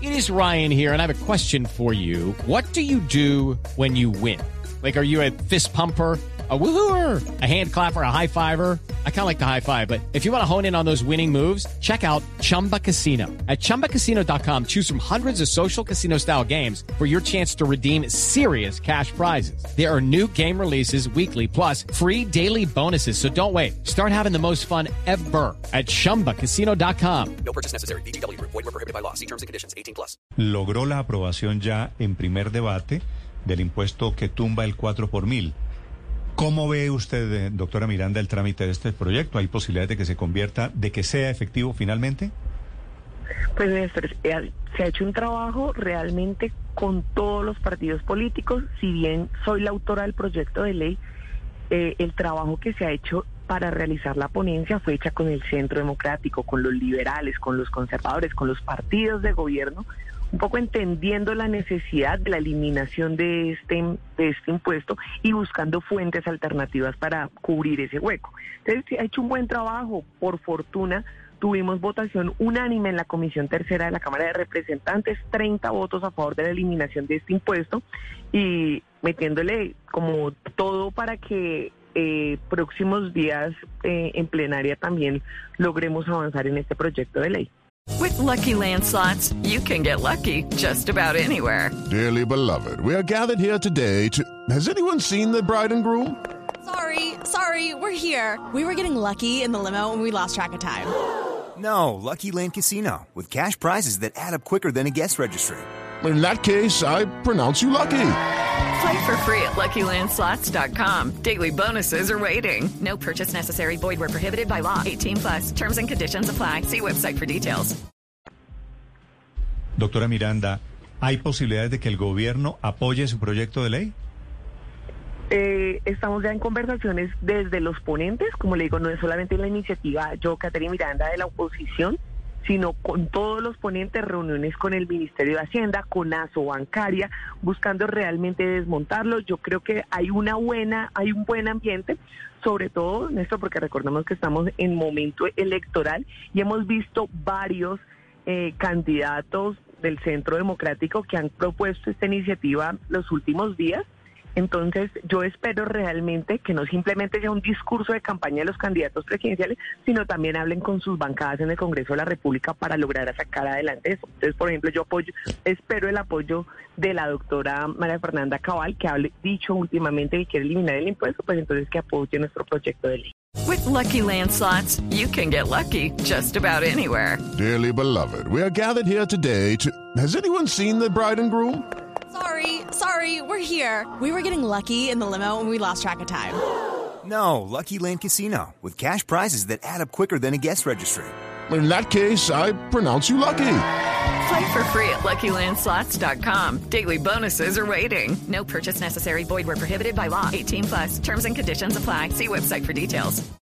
It is Ryan here, and I have a question for you. What do you do when you win? Like, are you a fist pumper, a woo-hooer, a hand clapper, a high fiver? I kind of like the high five, but if you want to hone in on those winning moves, check out Chumba Casino. At ChumbaCasino.com, choose from hundreds of social casino-style games for your chance to redeem serious cash prizes. There are new game releases weekly, plus free daily bonuses. So don't wait. Start having the most fun ever at ChumbaCasino.com. No purchase necessary. VGW Group. Void where prohibited by law. See terms and conditions. 18+. Logró la aprobación ya en primer debate del impuesto que tumba el 4 por mil. ¿Cómo ve usted, doctora Miranda, el trámite de este proyecto? ¿Hay posibilidades de que se convierta, de que sea efectivo finalmente? Pues Néstor, se ha hecho un trabajo realmente con todos los partidos políticos. Si bien soy la autora del proyecto de ley, el trabajo que se ha hecho para realizar la ponencia fue hecha con el Centro Democrático, con los liberales, con los conservadores, con los partidos de gobierno, un poco entendiendo la necesidad de la eliminación de este impuesto y buscando fuentes alternativas para cubrir ese hueco. Entonces, se ha hecho un buen trabajo. Por fortuna, tuvimos votación unánime en la Comisión Tercera de la Cámara de Representantes, 30 votos a favor de la eliminación de este impuesto y metiéndole como todo para que próximos días en plenaria también logremos avanzar en este proyecto de ley. With Lucky Land Slots, you can get lucky just about anywhere. Dearly beloved, we are gathered here today to... Has anyone seen the bride and groom? Sorry, we're here. We were getting lucky in the limo and we lost track of time. No, Lucky Land Casino, with cash prizes that add up quicker than a guest registry. In that case, I pronounce you lucky. Play for free at LuckyLandSlots.com. Daily bonuses are waiting. No purchase necessary. Void where prohibited by law. 18+. Terms and conditions apply. See website for details. Doctora Miranda, ¿hay posibilidades de que el gobierno apoye su proyecto de ley? Estamos ya en conversaciones desde los ponentes, como le digo, no es solamente la iniciativa yo, Catherine Miranda, de la oposición, sino con todos los ponentes, reuniones con el Ministerio de Hacienda, con Asobancaria, buscando realmente desmontarlo. Yo creo que hay un buen ambiente, sobre todo, Néstor, porque recordemos que estamos en momento electoral y hemos visto varios candidatos del Centro Democrático que han propuesto esta iniciativa los últimos días. Entonces, yo espero realmente que no simplemente sea un discurso de campaña de los candidatos presidenciales, sino también hablen con sus bancadas en el Congreso de la República para lograr sacar adelante eso. Entonces, por ejemplo, espero el apoyo de la doctora María Fernanda Cabal, que ha dicho últimamente que quiere eliminar el impuesto, pues entonces que apoye nuestro proyecto de ley. With Lucky Land Slots, you can get lucky just about anywhere. Dearly beloved, we are gathered here today to... Has anyone seen the bride and groom? Sorry, we're here. We were getting lucky in the limo and we lost track of time. No, Lucky Land Casino, with cash prizes that add up quicker than a guest registry. In that case, I pronounce you lucky. Play for free at LuckyLandSlots.com. Daily bonuses are waiting. No purchase necessary. Void where prohibited by law. 18+. Terms and conditions apply. See website for details.